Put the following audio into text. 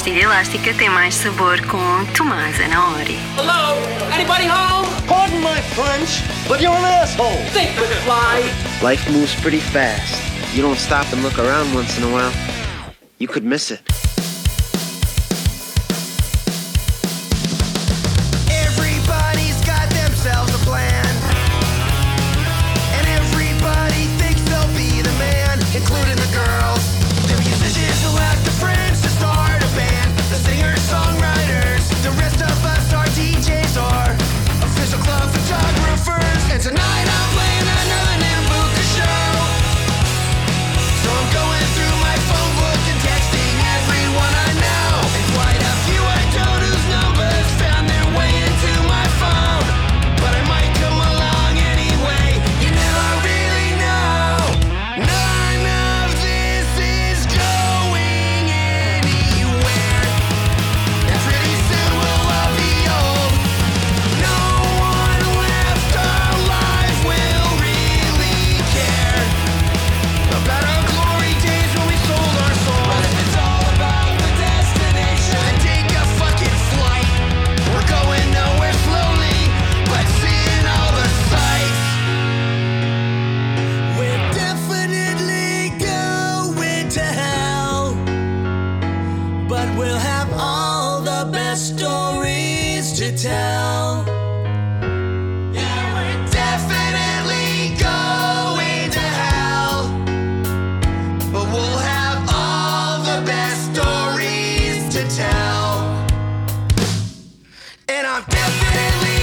pastilha elástica tem mais sabor com Tomás Anaori. Hello? Anybody home? Pardon my French, but you're an asshole. Think with fly. Life moves pretty fast. You don't stop and look around once in a while, you could miss it.